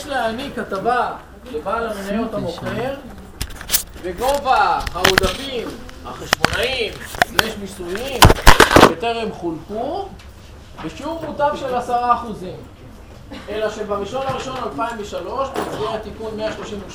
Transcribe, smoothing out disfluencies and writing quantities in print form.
להעניק הטבה לבעל המניות המוכר וגובה העודפים החשבונאיים / מיסויים בטרם חולקו בשיעור מוטב של 10%. אלא שב1 בינואר 2003 במסגרת תיקון 138